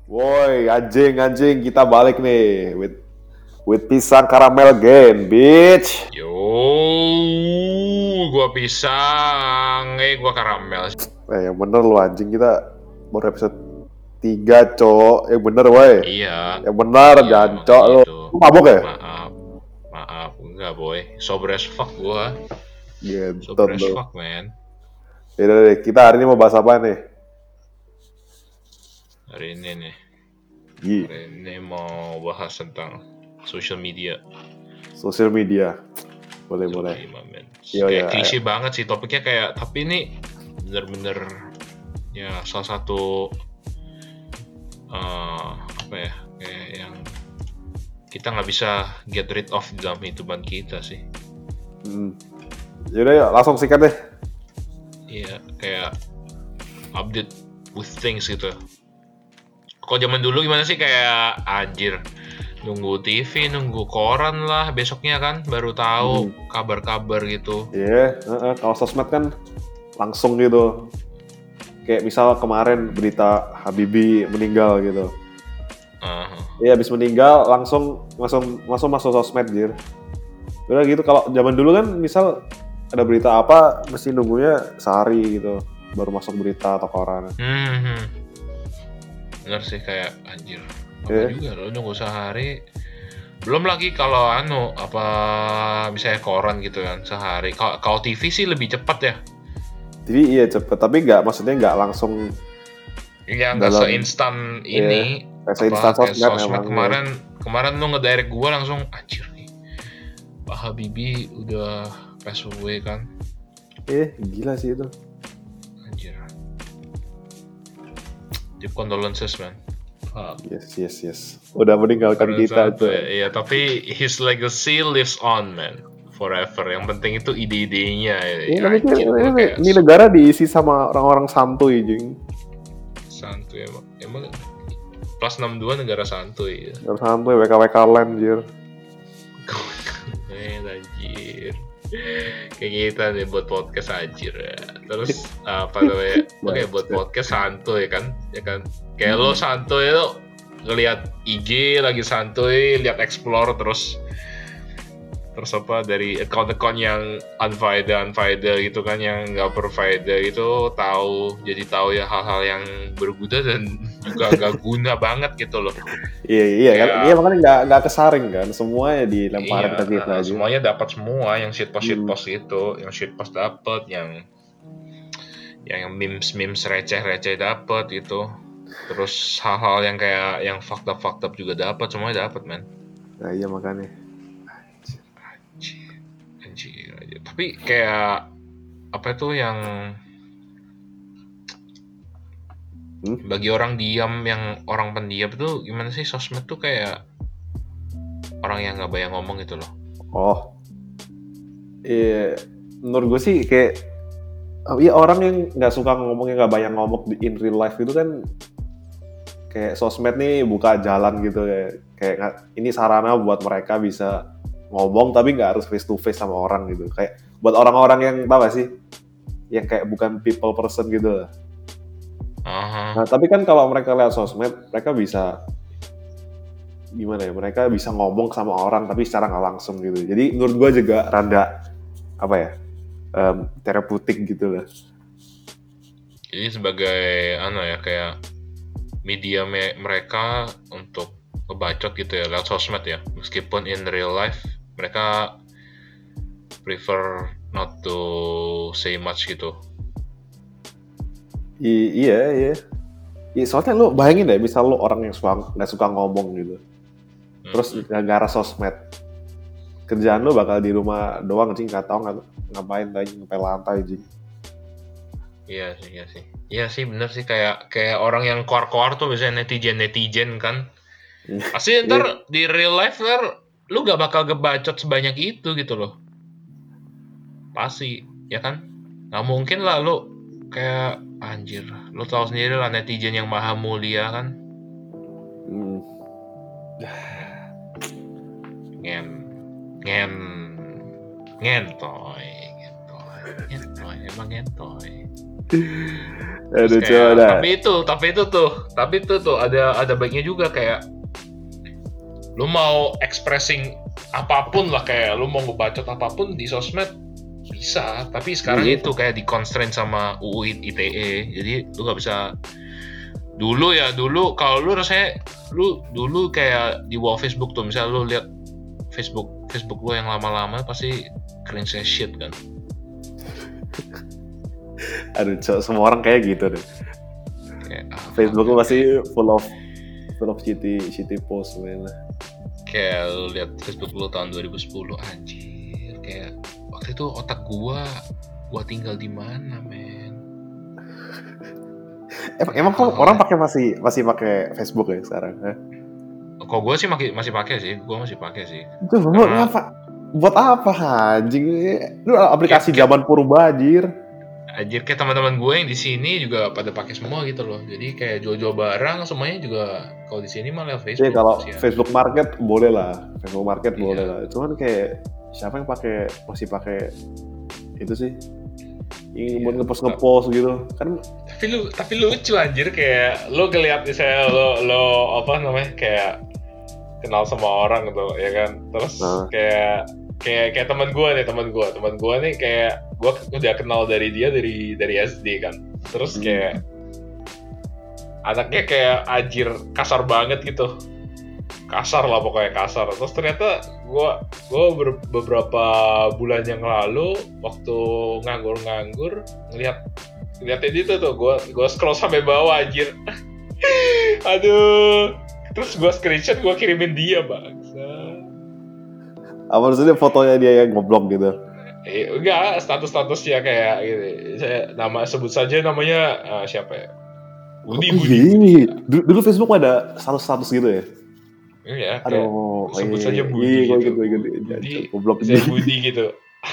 Woi, anjing, kita balik nih with pisang karamel game, bitch. Yo, gua pisang, gua karamel. Yang bener lu anjing, kita baru episode 3, cok. Yang bener, woi. Iya, Yang bener, iya jancok makanya lu. itu. Lu mabok ya? Maaf, enggak boy. Sober as fuck gua, Gentot sober as lu. fuck man. Yaudah deh, kita hari ini mau bahas apa nih? Hari ini nih, Gi, hari ini mau bahas tentang social media. social media. Boleh. Man. Yo, Kayak ya. klise banget sih topiknya kayak, tapi ini bener-bener ya salah satu apa ya, kayak yang kita nggak bisa get rid of dalam kehidupan kita sih. Yaudah ya, langsung sikat deh. Iya, kayak update with things gitu. Kalau zaman dulu gimana sih, kayak anjir nunggu TV, nunggu koran lah besoknya kan baru tahu kabar-kabar gitu. Iya, kalau sosmed kan langsung gitu. Kayak misal kemarin berita Habibie meninggal gitu. Iya, habis meninggal langsung masuk sosmed, jir. Udah gitu, kalau zaman dulu kan misal ada berita apa mesti nunggunya sehari gitu baru masuk berita atau koran. Bener sih, kayak anjir lama juga lo nunggu sehari. Belum lagi kalau apa misalnya koran gitu kan sehari. Kalau TV sih lebih cepat ya. TV iya cepet, tapi maksudnya nggak langsung. Iya, nggak seinstan ini. Seinstan Kayak sosmed sosmed emang. kemarin lu ngedirect gua langsung anjir nih, Pak Habibie udah pass away kan. Gila sih itu. Anjir, deep condolences man. Yes. Udah meninggalkan kita tuh. Iya, tapi his legacy lives on man, forever. Yang penting itu ide-idenya. Tapi ini negara diisi sama orang-orang santuy, jing. Santuy emang plus 62 negara santuy ya. Negara santuy, WKWK land, jir. Anjir, kayak kita nih buat podcast anjir ya. Terus apa namanya, oke, buat podcast santuy kan, ya kan, kayak lo santuy lo ngelihat IG lagi santuy, lihat explore terus apa dari account yang unfaedah gitu kan, yang nggak berfaedah gitu, jadi tahu ya hal-hal yang berguna dan juga gak guna banget gitu loh. Iya kan, iya makanya nggak kesaring kan, semuanya dilemparin ke kita aja. Semuanya dapat semua, yang shitpost itu, yang shitpost dapat, yang memes receh dapat itu, terus hal-hal yang kayak yang fucked up juga dapat, semuanya dapat man. Nah iya makanya. Anjir. Tapi kayak apa itu yang bagi orang diam, yang orang pendiam itu gimana sih, sosmed tuh kayak orang yang nggak banyak ngomong gitu loh. Iya, menurut gue sih kayak orang yang nggak suka ngomongnya, nggak banyak ngomong in real life itu kan kayak sosmed nih buka jalan gitu, kayak ini sarana buat mereka bisa ngomong tapi nggak harus face to face sama orang gitu, kayak buat orang-orang yang tau gak sih yang kayak bukan people person gitu lah. Nah tapi kan kalau mereka lihat sosmed, mereka bisa gimana ya, mereka bisa ngomong sama orang tapi secara nggak langsung gitu. Jadi menurut gue juga rada apa ya, terapeutik gitu lah. Jadi sebagai kayak media mereka untuk ngebacot gitu ya lewat sosmed ya, meskipun in real life mereka prefer not to say much gitu. Iya, soalnya lo bayangin deh, misal lo orang yang nggak suka ngomong gitu, terus gara-gara sosmed, kerjaan lo bakal di rumah doang, jing, nggak tahu ngapain, ngepel lantai, jing. Iya sih bener sih, kayak orang yang keluar tuh biasanya netizen kan. Pasti ntar di real life lu gak bakal ngebacot sebanyak itu gitu loh. Pasti, ya kan? Gak mungkin lah lu kayak anjir. Lu tahu sendiri lah netizen yang maha mulia kan. Ngentoy, emang ngentoy. Terus Aduh, coba kayak dah. tapi itu tuh ada baiknya juga, kayak lu mau expressing apapun lah, kayak lu mau ngebacot apapun di sosmed bisa, tapi sekarang Iya. itu kayak di constraint sama UU ITE, jadi lu nggak bisa. Dulu kalau lu rasanya lu dulu kayak di wall Facebook tuh, misalnya lu lihat Facebook lu yang lama-lama pasti cringe as shit kan. Aduh, semua orang kayak gitu deh. Kayak Facebook lu masih full of shitty post man. Kayak lu lihat Facebook lu tahun 2010, anjir, kayak waktu itu otak gua tinggal di mana, men? Emang kok orang pakai masih pakai Facebook ya sekarang? Kok gue sih masih pakai sih, Itu ngapa? Buat apa anjing? Lu aplikasi zaman purba anjir. Anjir, kayak teman-teman gue yang di sini juga pada pakai semua gitu loh. Jadi kayak jual-jual barang semuanya juga kalau di sini malah Facebook. Ya kalau Facebook Market boleh lah, boleh lah. Cuman kayak siapa yang masih pakai itu sih? Ingin buat ngepost gitu kan. Tapi lucu anjir, kayak lo ngeliat misalnya lo apa namanya, kayak kenal sama orang gitu ya kan, terus kayak teman gue nih kayak gue udah kenal dari SD kan, terus kayak anaknya kayak anjir kasar banget gitu, kasar lah pokoknya kasar. Terus ternyata gue beberapa bulan yang lalu waktu nganggur ngeliatin itu tuh, gue scroll sampai bawah anjir. Aduh, terus gue screenshot, gue kirimin dia, bangsa. Apa maksudnya fotonya dia yang ngoblok gitu? Enggak, statusnya kayak gitu. Sebut saja namanya siapa ya? Budi. Dulu Facebook ada status gitu ya? Iya. Aduh, sebut saja Budi gitu. Budi gitu.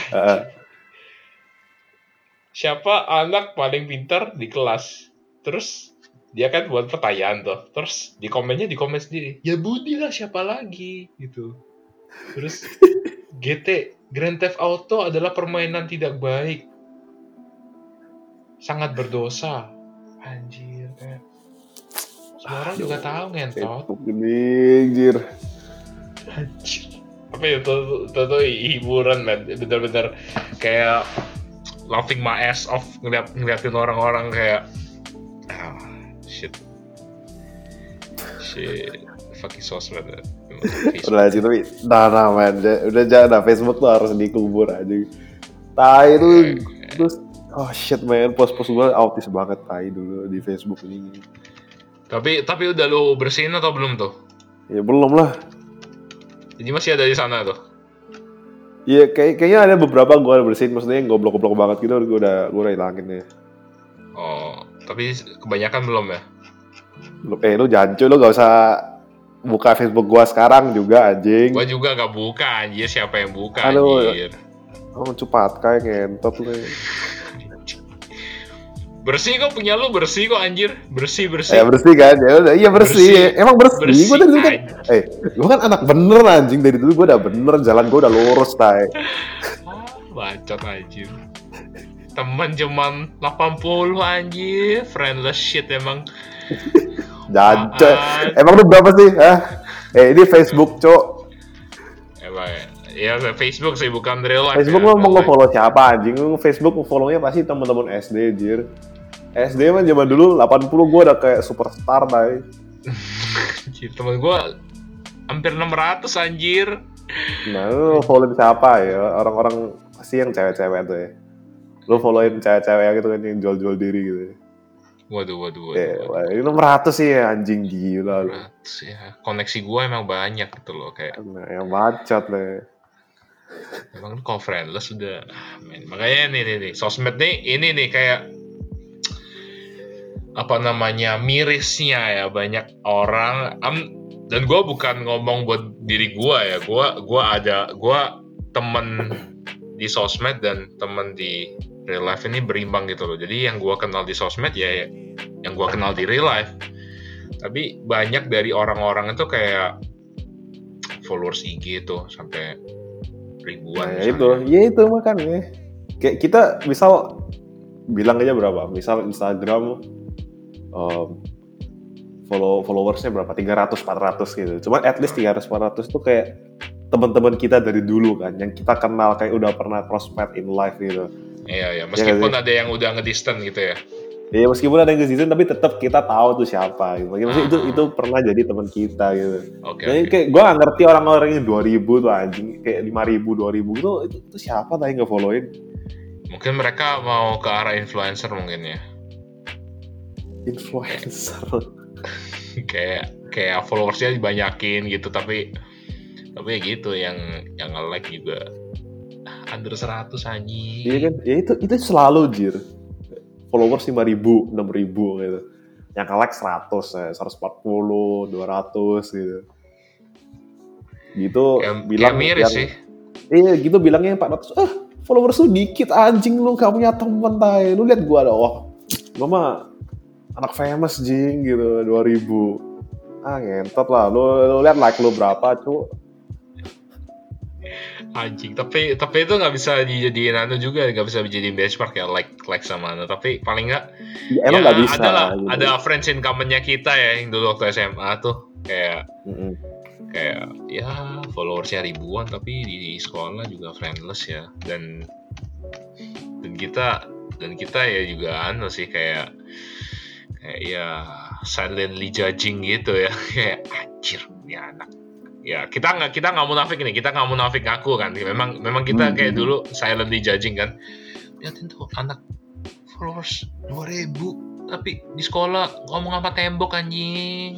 Siapa anak paling pintar di kelas? Terus dia kan buat pertanyaan tuh, terus di komen sendiri, ya Budi lah, siapa lagi gitu. Terus Grand Theft Auto adalah permainan tidak baik, sangat berdosa. Anjir, kan semua orang juga tahu ngentot. Anjir. Tapi itu hiburan, man. Bener-bener kayak laughing my ass off ngeliatin orang-orang kayak shit fucking sosmed. Udah sih, tapi man, udah jangan, Facebook tuh harus dikubur aja. Tai itu terus shit man, post gue autis banget tai dulu di Facebook ini. Tapi udah lu bersihin atau belum tuh? Ya belum lah. Jadi masih ada di sana tuh? Iya, kayaknya ada beberapa gue bersihin, maksudnya yang goblok-goblok banget gitu, gue udah hilangin ya. Oh, tapi kebanyakan belum ya? Lu jancu, lu gak usah buka Facebook gua sekarang juga anjing. Gua juga gak buka anjir, siapa yang buka anjir? Cepat kayak ngentot lu. Bersih kok, punya lu bersih kok anjir, bersih. Ya bersih kan, ya udah, iya bersih. Emang bersih. Gua dari dulu kan, gua kan anak bener anjing, dari dulu gua udah bener, jalan gua udah lurus tai. Bacot anjir. Temen cuman 80 anjir, friendless shit emang. Jancu. Emang lu berapa sih? Ini Facebook, Cok. Emang ya Facebook sih, bukan real life. Facebook lu mau nge-follow siapa anjing? Lu Facebook follow-nya pasti teman-teman SD anjir. SD mah zaman dulu 80 gua udah kayak superstar tai. Temen gua hampir 600 anjir. Nah, lu follow siapa ya? Orang-orang pasti yang cewek-cewek tuh ya. Lu followin cewek-cewek yang gitu kan, yang jual-jual diri gitu. Waduh. Ini 600 sih ya, anjing gila lu. 600 ya. Koneksi gua emang banyak gitu loh, kayak. Nah, yang bacot nih. Emang kalau friendless udah, makanya nih sosmed nih, ini nih kayak apa namanya, mirisnya ya, banyak orang. Dan gue bukan ngomong buat diri gue ya, gue temen di sosmed dan temen di real life ini berimbang gitu loh. Jadi yang gue kenal di sosmed ya yang gue kenal di real life. Tapi banyak dari orang-orang itu kayak followers IG tuh sampai ribuan. Nah, itu makanya. Kayak kita misal bilang aja berapa? Misal Instagram followersnya berapa 300-400 gitu. Cuma at least 300-400 tuh kayak teman-teman kita dari dulu kan, yang kita kenal kayak udah pernah crossfit in life gitu. Iya, meskipun ada yang udah ngedistant gitu ya. Iya, meskipun ada yang ke tapi tetap kita tahu tuh siapa gitu. Maksudnya itu pernah jadi teman kita gitu. Jadi kayak gue gak ngerti orang-orang yang 2000 tuh anjing, kayak 5000, 2000 itu siapa tadi nge-followin? Mungkin mereka mau ke arah influencer mungkin ya. Influencer. kayak followersnya dibanyakin gitu, tapi ya gitu yang nge-like juga under 100 anjing. Iya kan, ya itu selalu jir. Followers 5.000, 6.000 gitu. Yang nge-like 100 ya, 140, 200 gitu. Gitu bilang miris sih. Iya, gitu bilangnya 400. Followers lu dikit anjing, lu gak punya temen tay. Lu lihat gua ada, gua mah anak famous jing gitu, 2000. Ngentot lah. Lu lihat like lu berapa, cu. Anjing, tapi itu nggak bisa dijadiin juga, nggak bisa dijadiin benchmark ya, like sama tapi paling nggak ya, emang nggak bisa gitu. Ada friends in common-nya kita ya yang dulu waktu SMA tuh kayak ya followersnya ribuan tapi di sekolah juga friendless ya, dan kita ya juga sih kayak ya silently judging gitu ya, kayak anjir ini anak. Ya kita nggak munafik nih, kita nggak munafik ngaku kan, memang kita kayak dulu silently judging kan, liatin tuh anak followers 2000 tapi di sekolah ngomong apa tembok anjing.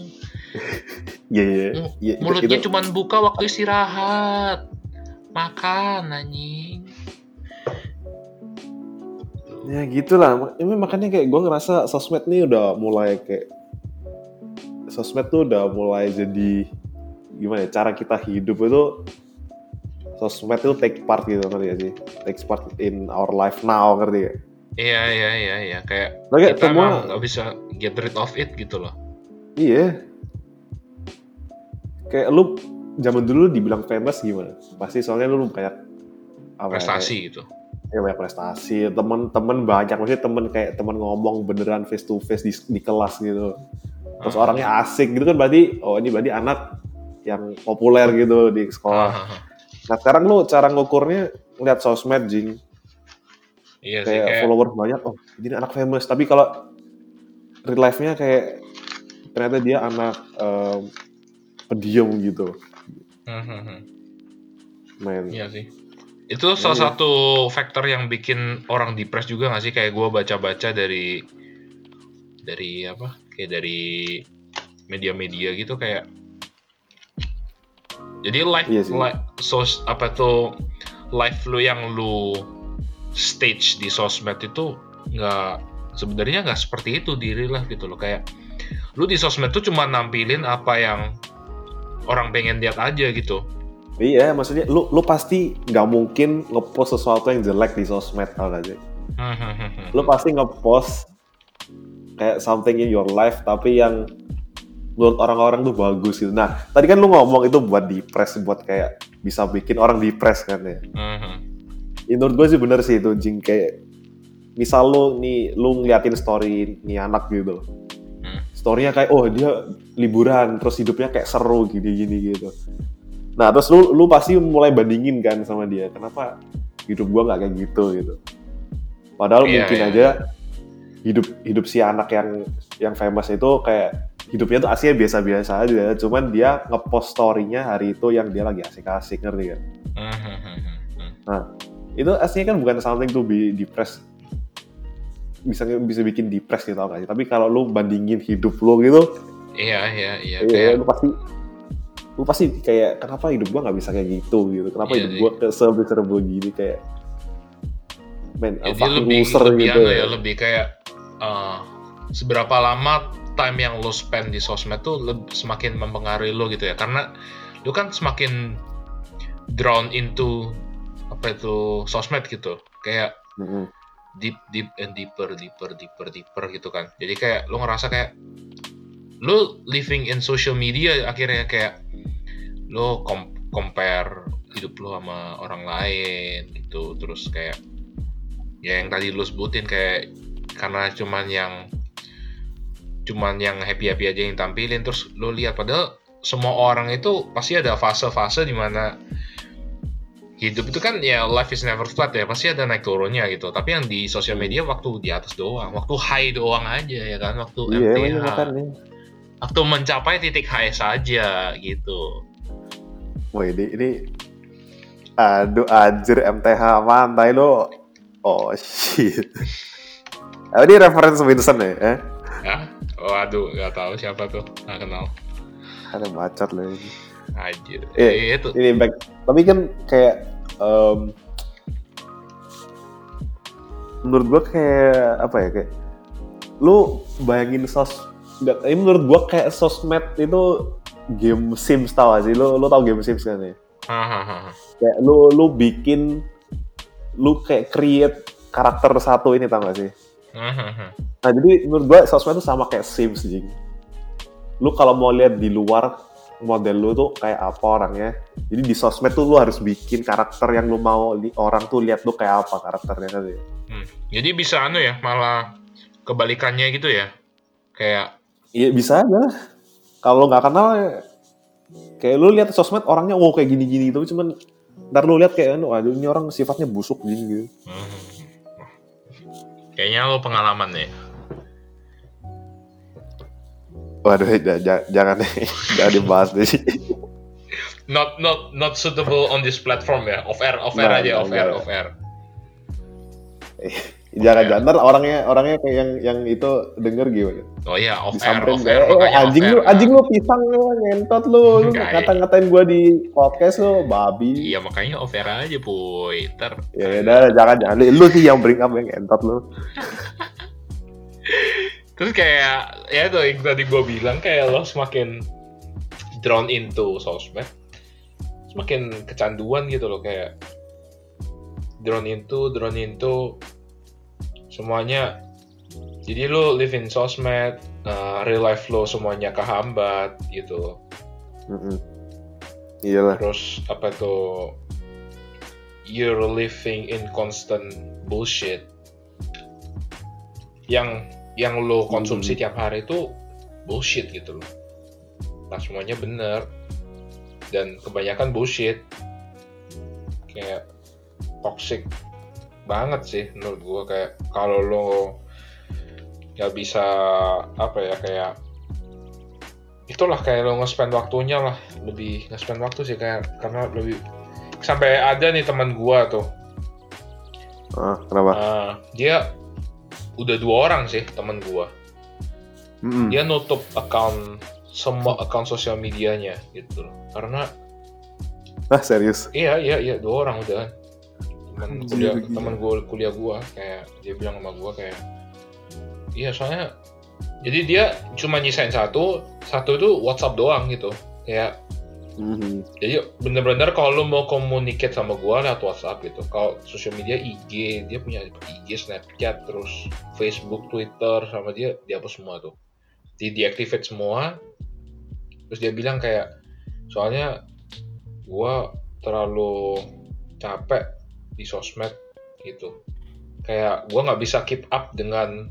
Mulutnya cuma buka waktu istirahat, makan anjing. Ya gitulah, ini makanya kayak gue ngerasa sosmed nih udah mulai kayak sosmed tuh udah mulai jadi gimana ya, cara kita hidup itu sosmed itu take part gitu, ngerti gak sih? Take part in our life now, ngerti gak? Iya, kayak kita semua nggak bisa get rid of it gitu loh. Iya, kayak lu zaman dulu dibilang famous gimana? Pasti soalnya lu banyak prestasi gitu. Ya banyak prestasi, temen banyak, maksudnya temen ngomong beneran face to face di kelas gitu. Terus orangnya asik gitu kan, berarti ini berarti anak yang populer gitu di sekolah. Nah sekarang lu cara ngukurnya ngeliat sosmed jing. Iya kayak sih, followers banyak, ini anak famous. Tapi kalau real life-nya kayak ternyata dia anak pendiam gitu. Men. Iya sih. Itu salah satu faktor yang bikin orang depres juga nggak sih? Kayak gue baca-baca dari apa? Kayak dari media-media gitu kayak. Jadi live lu yang lu stage di sosmed itu sebenarnya nggak seperti itu di real life gitu loh. Kayak lu di sosmed tuh cuma nampilin apa yang orang pengen lihat aja gitu. Iya, maksudnya lu pasti nggak mungkin ngepost sesuatu yang jelek di sosmed, tau gak sih? Lu pasti ngepost kayak something in your life tapi yang menurut orang-orang tuh bagus gitu. Nah, tadi kan lu ngomong itu buat depres, buat kayak bisa bikin orang depres kan ya. Ya, menurut gue sih bener sih itu, jing, kayak misal lu ngeliatin story nih anak gitu. Story-nya kayak dia liburan terus hidupnya kayak seru gini gitu. Nah, terus lu pasti mulai bandingin kan sama dia. Kenapa hidup gua nggak kayak gitu. Padahal mungkin aja hidup si anak yang famous itu kayak hidupnya tuh aslinya biasa-biasa aja. Cuman dia ngepost story-nya hari itu yang dia lagi asik-asik, ngerti kan? Nah, itu aslinya kan bukan something to be depressed. Bisa bikin depressed gitu, tau gak sih? Tapi kalau lu bandingin hidup lu gitu, iya. Kayak lu pasti kayak kenapa hidup gua nggak bisa kayak gitu. Kenapa hidup gua serba gini, kayak lebih loser gitu ya, lebih kayak seberapa lama time yang lo spend di sosmed tuh semakin mempengaruhi lo gitu ya, karena lo kan semakin drawn into apa itu sosmed gitu, kayak deep and deeper gitu kan. Jadi kayak lo ngerasa kayak lo living in social media, akhirnya kayak lo compare hidup lo sama orang lain gitu. Terus kayak ya yang tadi lo sebutin, kayak karena cuman yang cuman yang happy-happy aja yang tampilin, terus lo lihat padahal semua orang itu pasti ada fase-fase di mana hidup itu kan ya life is never flat ya, pasti ada naik turunnya gitu. Tapi yang di sosial media waktu di atas doang, waktu high doang aja ya kan, waktu Iya, MTH, makanya. waktu mencapai titik high saja gitu. Wah ini aduh anjir MTH mantai lo. Oh shit. Ini reference Winston ya? Ya, waduh, nggak tahu siapa tuh, nggak kenal. Ada bacot loh ini. Anjir. Itu. Ini back. Tapi kan kayak menurut gua kayak apa ya, kayak lu bayangin ini menurut gua kayak sosmed itu game Sims, tau gak sih? Lu tau game Sims kan ya? Kayak lu bikin, lu kayak create karakter satu ini, tau gak sih? Nah jadi menurut gua sosmed itu sama kayak Sims, jing. Lu kalau mau lihat di luar model lu tuh kayak apa orangnya, jadi di sosmed tuh lu harus bikin karakter yang lu mau orang tuh lihat lu kayak apa karakternya kan ya. Jadi bisa ya, malah kebalikannya gitu ya, kayak iya bisa aja kalau nggak kenal kayak lu lihat sosmed orangnya kayak gini-gini gitu, cuman ntar lu lihat kayak aduh ini orang sifatnya busuk gitu. Kayaknya lo pengalaman ya. Waduh, jangan dibahas deh. Not suitable on this platform ya. Off air aja. Jangan ntar orangnya kayak yang itu denger gimana? Oh iya, off air. Anjing lu pisang lu, ngentot lu ngata-ngatain gua di podcast lu, babi. Iya makanya off air aja, boy. Ya udah, jangan lu sih yang bring up yang ngentot lu. Terus kayak ya itu yang tadi gue bilang, kayak lo semakin drawn into sosmed, semakin kecanduan gitu loh, kayak drawn into semuanya. Jadi lo live in sosmed, real life lo semuanya kehambat gitu. Iyalah. Terus apa tuh, you're living in constant bullshit yang lo konsumsi tiap hari itu bullshit gitu loh. Nah semuanya bener dan kebanyakan bullshit, kayak toxic banget sih menurut gue. Kayak kalau lo nggak bisa apa ya, kayak itulah, kayak lo nge-spend waktunya lah, lebih nge-spend waktu sih, kayak karena lebih sampai ada nih teman gue tuh. Kenapa? Dia udah 2 orang sih teman gua. Dia nutup semua account sosial medianya gitu loh. Karena serius? Iya 2 orang udah. Teman kuliah gua, kayak dia bilang sama gua kayak iya, soalnya jadi dia cuma nyisain satu tuh WhatsApp doang gitu. Kayak jadi bener-bener kalau lu mau communicate sama gua lewat WhatsApp gitu. Kalau sosial media IG, dia punya IG, Snapchat, terus Facebook, Twitter, sama dia dihapus semua tuh. Deactivate semua. Terus dia bilang kayak, soalnya gua terlalu capek di sosmed gitu. Kayak gua nggak bisa keep up dengan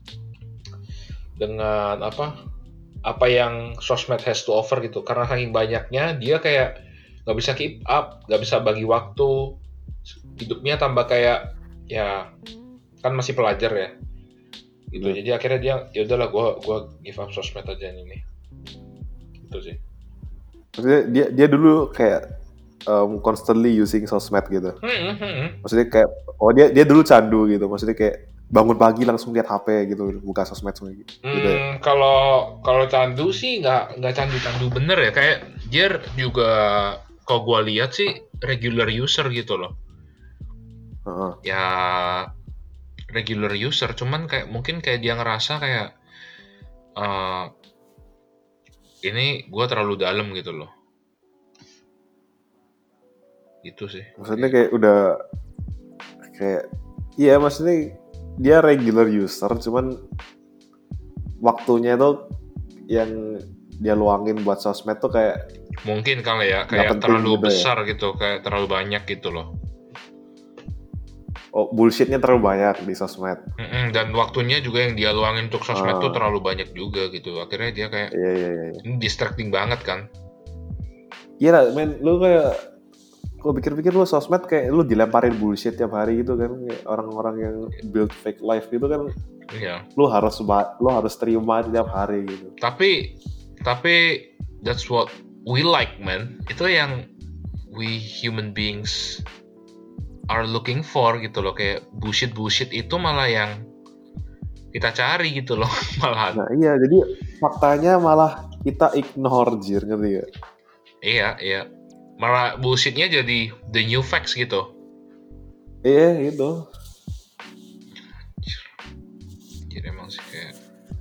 apa yang sosmed has to offer gitu, karena saking banyaknya dia kayak nggak bisa keep up, nggak bisa bagi waktu, hidupnya tambah kayak ya kan masih pelajar ya gitu. Jadi akhirnya dia ya udahlah, gue give up sosmed aja ini gitu sih. Maksudnya dia dulu kayak constantly using sosmed gitu. Maksudnya kayak dia dulu candu gitu, maksudnya kayak bangun pagi langsung lihat HP gitu, buka sosmed semua gitu. Kalau candu sih nggak candu bener ya, kayak dia juga kalau gue lihat sih regular user gitu loh. Ya regular user, cuman kayak mungkin kayak dia ngerasa kayak ini gue terlalu dalam gitu loh. Gitu sih. Maksudnya kayak udah kayak iya, maksudnya dia regular user, cuman waktunya tuh yang dia luangin buat sosmed tuh kayak mungkin kali ya, kayak terlalu besar gitu, kayak terlalu banyak gitu loh. bullshitnya terlalu banyak di sosmed. Dan waktunya juga yang dia luangin untuk sosmed tuh Ah, terlalu banyak juga gitu. Akhirnya dia kayak iya. ini distracting banget kan. Iya lah, men, lu kayak kalau pikir-pikir lu sosmed kayak lu dilemparin bullshit tiap hari gitu kan, kayak orang-orang yang build fake life gitu kan, Iya. lu harus terima tiap hari gitu. Tapi that's what we like, man. Itu yang we human beings are looking for gitu loh. Kayak bullshit itu malah yang kita cari gitu loh malahan. Nah iya, jadi faktanya malah kita ignore, jir, ngerti gak? Iya. Malah bullshitnya jadi the new facts gitu. Iya gitu. Jadi emang sih kayak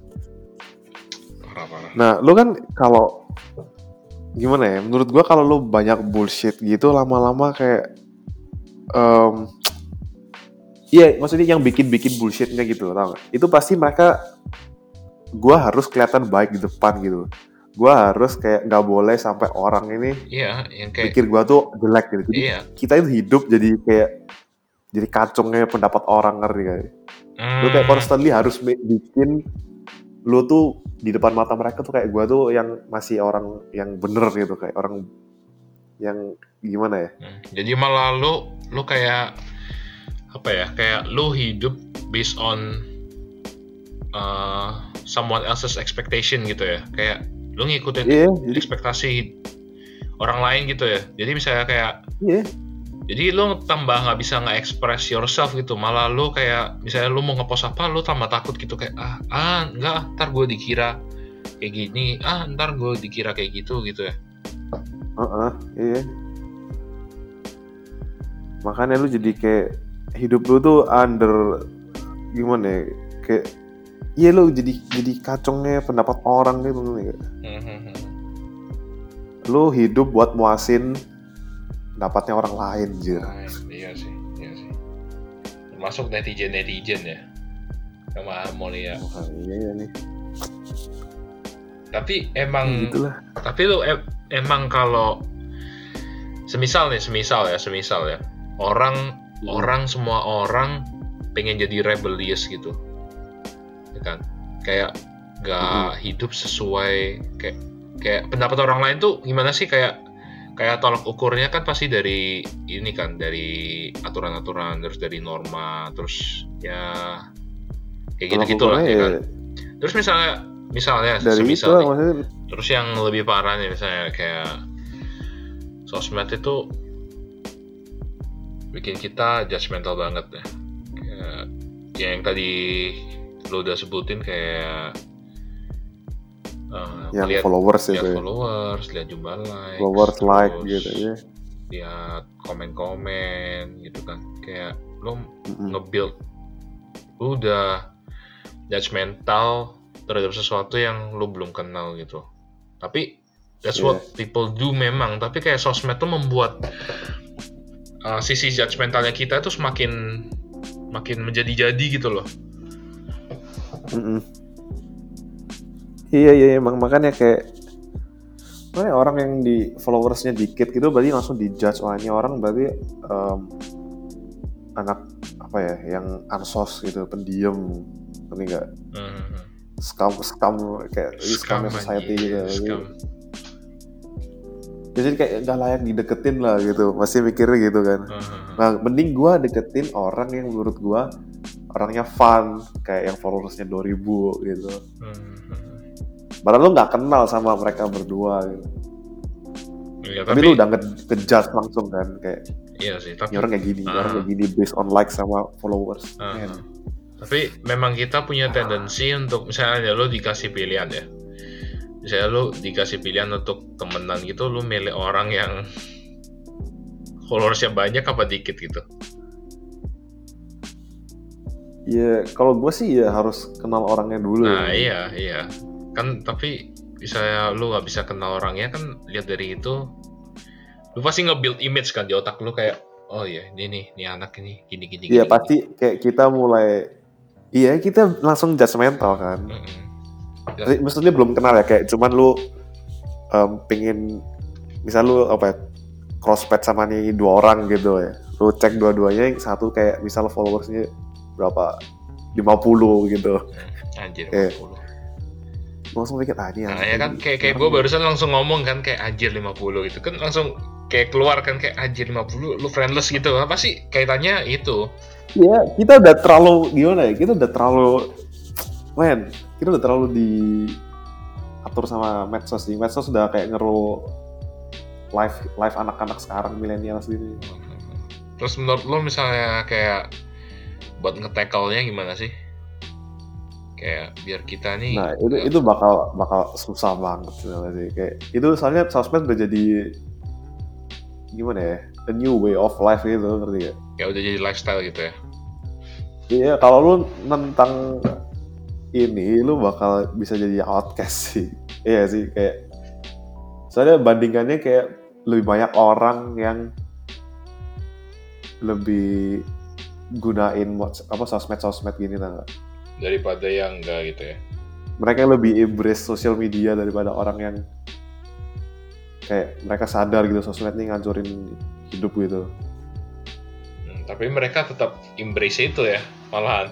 parah. Nah lu kan kalau gimana ya, menurut gua kalau lu banyak bullshit gitu lama-lama kayak iya, maksudnya yang bikin bullshitnya gitu, tau gak? Itu pasti mereka, gua harus kelihatan baik di depan gitu. Gua harus kayak nggak boleh sampai orang ini Iya, yang kayak pikir gua tuh jelek gitu. Jadi iya. kita itu hidup jadi kayak jadi kacungnya pendapat orang, ngerti gak? Lu kayak constantly harus bikin lu tuh di depan mata mereka tuh kayak gua tuh yang masih orang yang bener gitu, kayak orang yang gimana ya? Jadi malah lu kayak apa ya? Kayak lu hidup based on someone else's expectation gitu ya. Kayak lu ngikutin ekspektasi orang lain gitu ya. Jadi misalnya kayak jadi lu tambah nggak bisa nge-express yourself gitu. Malah lu kayak misalnya lu mau ngepost apa, lu tambah takut gitu kayak enggak, ntar gue dikira kayak gini, ntar gue dikira kayak gitu ya. Iya. Makanya lu jadi kayak hidup lu tuh under gimana ya? Kayak iya lu jadi kacungnya pendapat orang gitu nih. Lu hidup buat muasin pendapatnya orang lain, jir. Iya sih. Termasuk netizen ya. Sama Amolia. Iya nih. Tapi emang gitulah. Tapi lu emang kalau semisal ya. Orang semua orang pengen jadi rebellious gitu. Ya kan? Kayak gak hidup sesuai kayak pendapat orang lain tuh gimana sih, kayak tolak ukurnya kan pasti dari ini kan, dari aturan-aturan, terus dari norma, terus ya kayak gitu lah ya kan. Terus misalnya dari semisal itu maksudnya. Terus yang lebih parah nih misalnya kayak sosmed itu bikin kita judgmental banget ya. Kayak yang tadi lo udah sebutin kayak yang lihat followers itu ya. Lihat jumlah like gitu ya. Lihat komen gitu kan. Kayak lo nge-build, lo udah judgmental terhadap sesuatu yang lo belum kenal gitu. Tapi that's what people do memang. Tapi kayak sosmed tuh membuat sisi judgmentalnya kita tuh semakin menjadi-jadi gitu loh. Iya emang, makanya kayak orang yang di followersnya dikit gitu berarti langsung dijudge, ini orang berarti anak apa ya, yang ansos gitu, pendiam, ngerti nggak? Scam kayak scam society gitu. Jadi kayak nggak layak dideketin lah gitu, masih mikirnya gitu kan. Nah mending gue deketin orang yang menurut gue orangnya fun, kayak yang followersnya 2.000 gitu. Padahal lu nggak kenal sama mereka berdua gitu. Ya, tapi lu udah ngejudge langsung kan, kayak iya sih, tapi orang kayak gini based on like sama followers. Tapi memang kita punya tendensi untuk misalnya lu dikasih pilihan ya. Misalnya lu dikasih pilihan untuk temenan gitu, lu milih orang yang followersnya banyak apa dikit gitu. Ya kalau gue sih ya harus kenal orangnya dulu. Nah iya kan, tapi misalnya lu nggak bisa kenal orangnya kan, lihat dari itu lu pasti nge-build image kan di otak lu kayak oh iya ini anak ini gini. Iya pasti kayak kita mulai kita langsung judgmental kan. Maksudnya belum kenal ya, kayak cuman lu pengen misal lu crossfit sama nih 2 orang gitu ya, lu cek dua-duanya, yang satu kayak misal followersnya berapa 50 gitu, Anjir kayak 50. langsung mikir ini Nah ya kan kayak gue barusan langsung ngomong kan kayak anjir 50 gitu kan, langsung kayak keluar kan kayak anjir 50 lu friendless gitu. Apa sih kaitannya itu? ya kita udah terlalu gimana ya, kita udah terlalu diatur sama medsos sih. Medsos sudah kayak ngeru live anak-anak sekarang milenial sendiri. Terus menurut lo misalnya kayak buat nge-tackle-nya gimana sih? Kayak biar kita nih Nah itu bakal susah banget sebenarnya sih. Kayak itu soalnya sosmed udah jadi gimana ya, a new way of life gitu, ngerti gak? Kayak udah jadi lifestyle gitu ya. Iya, kalau lu nentang ini lu bakal bisa jadi outcast sih. Iya sih, kayak soalnya bandingannya kayak lebih banyak orang yang lebih gunain sosmed gini lah. Daripada yang enggak gitu ya. Mereka lebih embrace social media daripada orang yang kayak mereka sadar gitu sosmed ini ngancurin hidup gitu. Tapi mereka tetap embrace itu ya, malahan.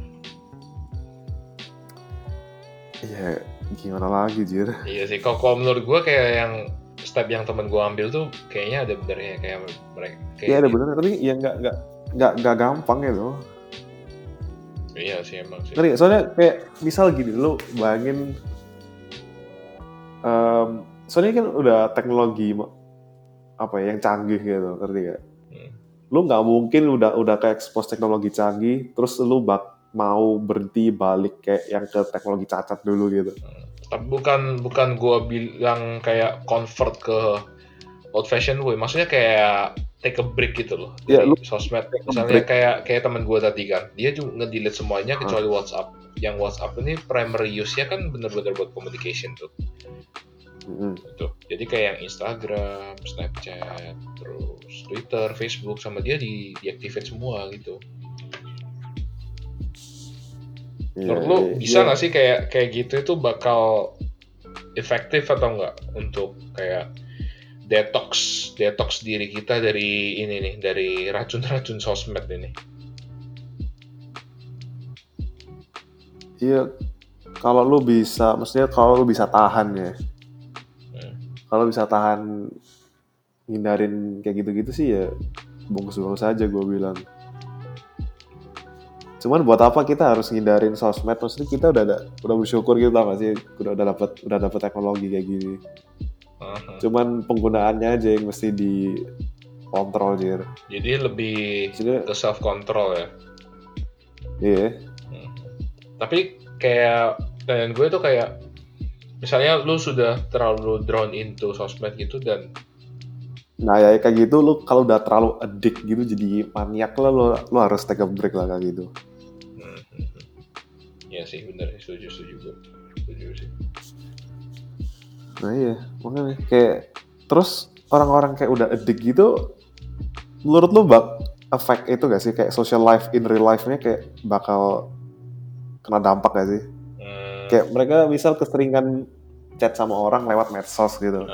Iya, gimana lagi Jir? Iya sih, kalau menurut gue kayak yang step yang temen gue ambil tuh kayaknya ada benernya, kayak mereka. Iya ada bener, tapi ya nggak gampang gitu. Iya sih emang sih. Ngerti, soalnya kayak misal gini, lu bayangin, soalnya kan udah teknologi apa ya yang canggih gitu, ngerti gak? Lu nggak mungkin udah kayak expose teknologi canggih, terus lu mau berhenti balik kayak yang ke teknologi cacat dulu gitu. Tapi bukan gue bilang kayak convert ke old fashion way, maksudnya kayak take a break gitu loh dari sosmed. Misalnya kayak teman gue tadi kan, dia juga nge-delete semuanya kecuali WhatsApp. Yang WhatsApp ini primary use-nya kan bener-bener buat communication tuh. Gitu. Jadi kayak yang Instagram, Snapchat, terus Twitter, Facebook sama dia diaktifin semua gitu. Menurut lu bisa nggak sih kayak gitu itu bakal efektif atau enggak untuk kayak detox diri kita dari ini nih, dari racun-racun sosmed ini? Iya, kalau lu bisa, maksudnya kalau lu bisa tahan ya, kalau bisa tahan hindarin kayak gitu-gitu sih ya bungkus-bungkus aja gue bilang. Cuman buat apa kita harus ngindarin sosmed? Maksudnya kita udah bersyukur gitu lah sih, udah dapet teknologi kayak gini. Cuman penggunaannya aja yang mesti dikontrol Jir. Jadi lebih ke self control ya. Iya. Tapi kayak dan gue tuh kayak misalnya lu sudah terlalu drawn into sosmed gitu dan nah ya kayak gitu, lu kalau udah terlalu addict gitu jadi maniak lah, lu harus take a break lah kayak gitu. Iya sih bener, setuju sih. Nah iya, makanya kayak terus orang-orang kayak udah addict gitu, menurut lu efek itu gak sih kayak social life in real life-nya kayak bakal kena dampak gak sih? Kayak mereka misal keseringan chat sama orang lewat medsos gitu.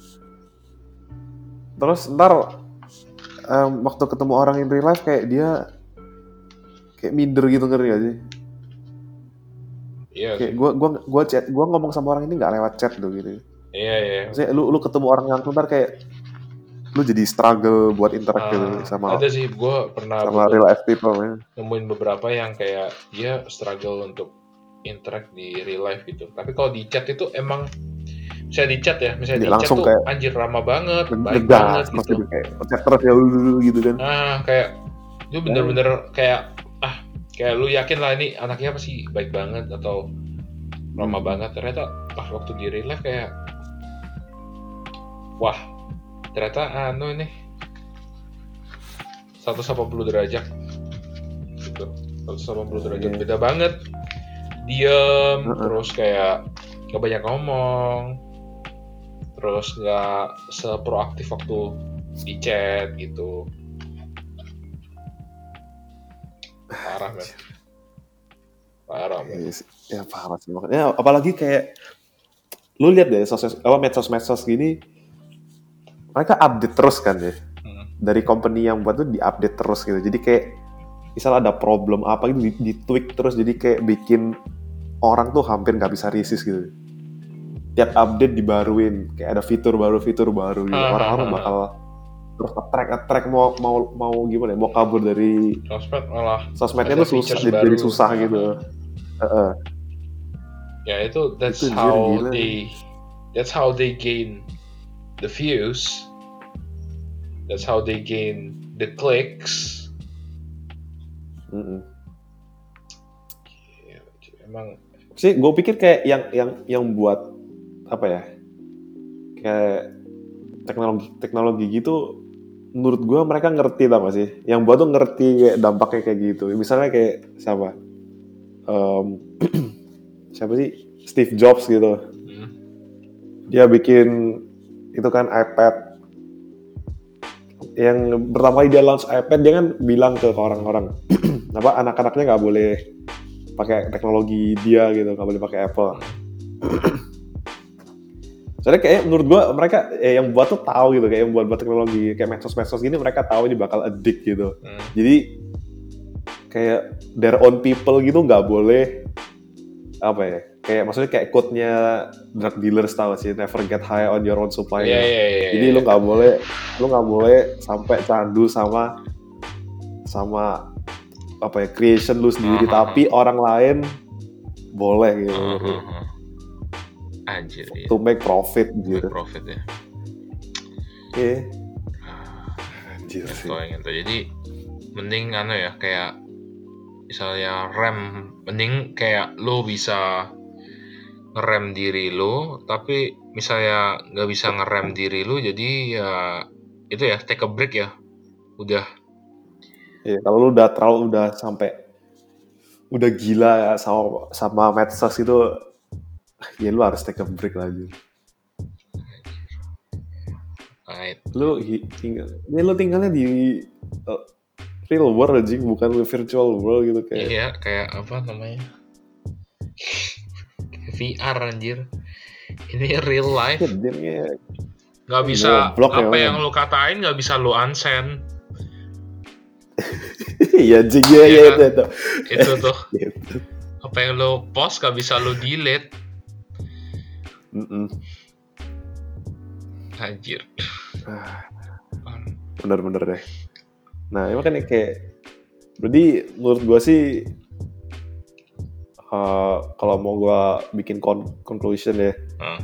Terus ntar waktu ketemu orang in real life kayak dia kayak minder gitu, ngerti gak sih? Iya. Kayak gue ngomong sama orang ini nggak lewat chat tuh gitu. Iya. Maksudnya lu ketemu orang yang ntar kayak lu jadi struggle buat interact gitu sama. Ada sih, gue pernah sama real life people ya. Nemuin beberapa yang kayak dia struggle untuk interact di real life gitu. Tapi kalau di chat itu emang misalnya di chat ya, misalnya di chat tuh kayak, anjir ramah banget, baik banget gitu. Kayak chat terus ya dulu gitu kan. Kayak lu bener-bener kayak kayak lu yakin lah ini anaknya pasti baik banget atau ramah banget. Ternyata pas waktu di real life kayak wah, ternyata ini 180 derajat gitu. 180 derajat beda banget. Diem, terus kayak gak banyak ngomong, terus gak seproaktif waktu di chat gitu. Parah men. Ya parah sih makanya. Apalagi kayak lu lihat deh medsos gini, mereka update terus kan ya. dari company yang buat tuh diupdate terus gitu. Jadi kayak misal ada problem apa gitu di-tweak terus, jadi kayak bikin orang tuh hampir nggak bisa resist gitu. Tiap update dibaruin, kayak ada fitur baru gitu. Orang-orang bakal terus attract mau gimana ya, mau kabur dari sosmednya ada tuh susah, features jadi baru. susah gitu. Ya itu Itu gila. that's how they gain the views, that's how they gain the clicks. Ya, emang Sih gue pikir kayak yang buat apa ya, kayak teknologi gitu, menurut gue mereka ngerti tau gak sih, yang buat tuh ngerti kayak dampaknya kayak gitu. Misalnya kayak siapa siapa sih, Steve Jobs gitu. Dia bikin itu kan iPad, yang pertama kali dia launch iPad, dia kan bilang ke orang-orang apa anak-anaknya nggak boleh pakai teknologi dia gitu, nggak boleh pakai Apple. Soalnya kayak menurut gua mereka yang buat tuh tahu gitu, kayak yang buat teknologi kayak medsos gini, mereka tahu ini bakal addict gitu. Jadi kayak their own people gitu nggak boleh apa ya, kayak maksudnya kayak quote-nya drug dealers tahu sih, never get high on your own supply. Jadi lu nggak boleh sampai candu sama apa ya, creation lu sendiri, tapi orang lain boleh gitu. Anjir, to make profit gitu. Profit ya. Iya. Anjir sih. Jadi mending ya, kayak misalnya rem, mending kayak lo bisa ngerem diri lo, tapi misalnya nggak bisa ngerem diri lo, jadi ya itu ya take a break ya. Udah. Iya, kalau lu udah sampai udah gila sama medsos itu, ya lu harus take a break lagi. Right. Lu tinggalnya di real world aja, bukan virtual world gitu kayak. Iya, kayak apa namanya? VR anjir. Ini real life. Gak bisa apa yang lu katain gak bisa lu unsend. Iya anjing ya kan? Itu tuh. Apa yang lu post gak bisa lu delete. Anjir. Bener-bener deh. Nah, emang kan kayak, berarti menurut gue sih, kalau mau gue bikin conclusion ya,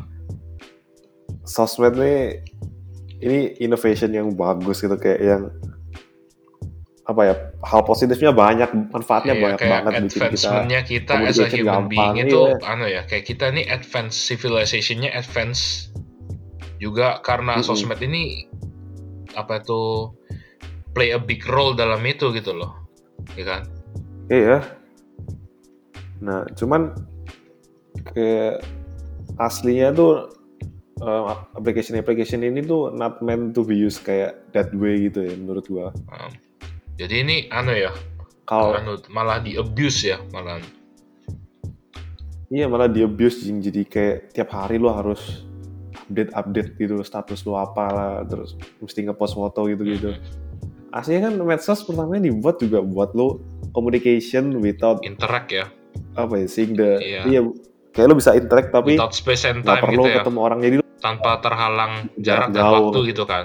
sosmed nih, ini innovation yang bagus gitu, kayak yang apa ya, hal positifnya banyak, manfaatnya banyak banget, bikin kita as a human being itu ya, kayak kita nih advance, civilization-nya advance juga karena sosmed ini apa itu play a big role dalam itu gitu loh, ya kan? Iya. Nah, cuman kayak aslinya tuh application ini tuh not meant to be used kayak that way gitu ya, menurut gua. Jadi ini ya, malah di abuse ya, malah. Iya, malah di abuse, jadi kayak tiap hari lo harus update gitu status lo apalah, terus mesti ngepost foto gitu. Aslinya kan medsos pertamanya dibuat juga buat lo communication without interact ya. Apa ya, seeing iya, kayak lo bisa interact tapi without space and time perlu gitu ya, ketemu orang, jadi tanpa terhalang jarak dan waktu gitu kan.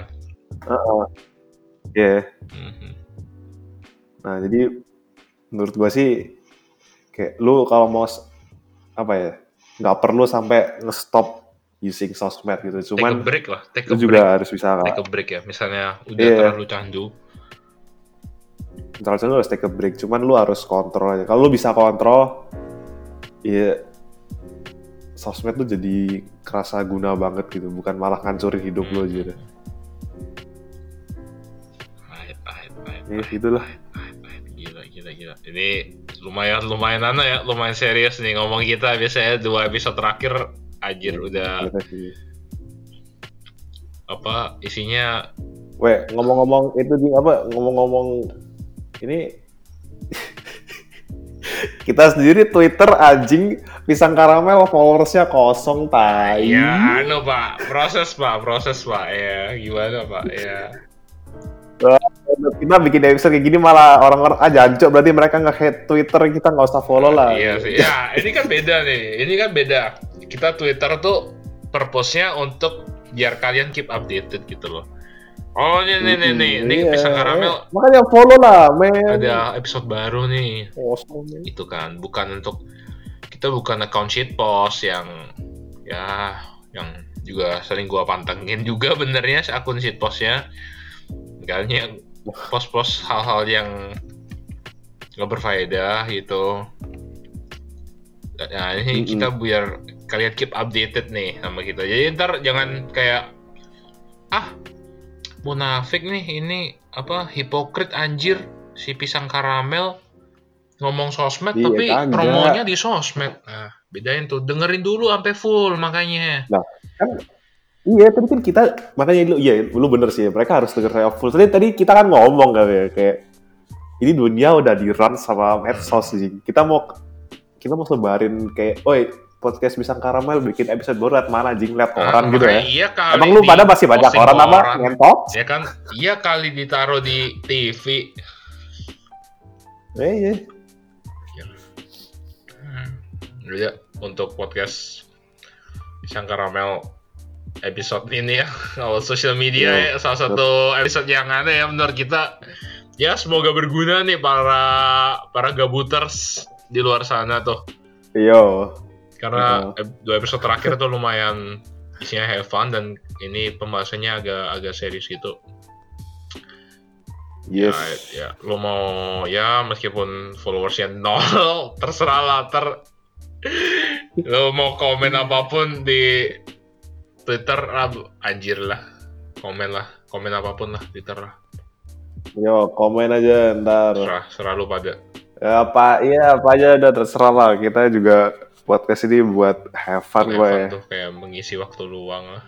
Iya. Nah, jadi menurut gua sih kayak lu kalau mau apa ya, nggak perlu sampai nge-stop using sosmed gitu, cuman take a break lah, lu juga harus bisa take a break ya, misalnya udah terlalu candu, lu harus take a break, cuman lu harus kontrol aja. Kalau lu bisa kontrol, ya sosmed tuh jadi kerasa guna banget gitu, bukan malah ngancurin hidup lu aja deh. Ya gitulah. Gila. Ini lumayan ya, lumayan serius nih ngomong kita. Biasanya 2 episode terakhir anjir udah apa isinya. Ngomong-ngomong itu ngomong-ngomong ini kita sendiri Twitter anjing pisang karamel followersnya kosong, tai. Ya, Pak. Proses, Pak. Ya, gimana, Pak? Ya. Wah, kita bikin episode kayak gini malah orang-orang jancok, berarti mereka nge-hate Twitter, kita nggak usah follow lah. Iya sih. Ya, ini kan beda nih. Ini kan beda. Kita Twitter tuh purpose-nya untuk biar kalian keep updated gitu loh. Oh, ini Iya. Pisang Karamel Makanya follow lah, men. ada episode baru nih. Awesome, men. Itu kan bukan untuk kita bukan account shitpost yang ya yang juga sering gua pantengin juga benernya akun shitpostnya. Makanya post-post hal-hal yang nggak berfaedah gitu. Nah ini kita biar kalian keep updated nih sama kita. Jadi ntar jangan kayak munafik nih, ini apa hipokrit anjir si Pisang Karamel ngomong sosmed Iya, tapi kagak. promonya di sosmed. Nah, bedain tuh, dengerin dulu sampai full makanya. Nah, kan iya, tadi kan kita makanya lu bener sih, mereka harus denger saya full. Tadi kita kan ngomong kan ya, kayak ini dunia udah di run sama medsos sih. Kita mau sebarin kayak, oi podcast Pisang Karamel bikin episode baru, liat mana jing, liat orang gitu ya. Iya kali. Emang lu pada masih banyak orang apa ngentot? Ya kan, iya kali ditaruh di TV. Iya. Ya, untuk podcast Pisang Karamel episode ini ya, kalau social media ya, salah satu episode yang aneh ya menurut kita. Ya semoga berguna nih para gabuters di luar sana tuh. Iya. Karena 2 episode terakhir tuh lumayan isinya have fun dan ini pembahasannya agak serius gitu. Yes. Ya, lu mau ya meskipun followersnya 0 terserah lah, lu mau komen apapun di Twitter anjir lah, komen apapun lah Twitter lah. Yo, komen aja ntar. Serah lu pada. Ya, apa aja udah terserah lah. Kita juga podcast ini buat have fun gue. Tuh kayak mengisi waktu luang lah.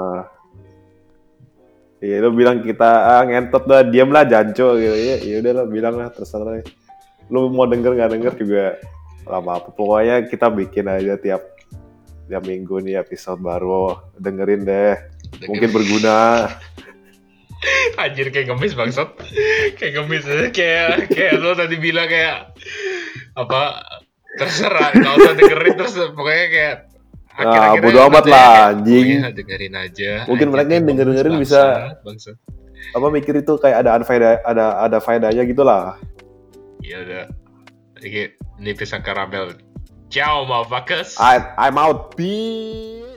Iya, lu bilang kita ngentot dah, diam lah janco gitu. Ya udah lah, bilang lah terserah. Lu mau denger nggak denger juga nggak apa-apa. Pokoknya kita bikin aja tiap minggu nih episode baru. Dengerin deh. Mungkin berguna. Anjir kayak ngemis bangsat. Kayak ngemis kayak lo tadi bilang kayak apa terserah, nggak usah dengerin terus pokoknya kayak akhir-akhirnya bodo amat lah anjing. Dengerin aja. Mungkin mereka yang dengerin bisa apa mikir itu kayak ada faedahnya gitu lah. Ya udah. Ini Pisang Karamel. Ciao motherfuckers. I'm out. Peace.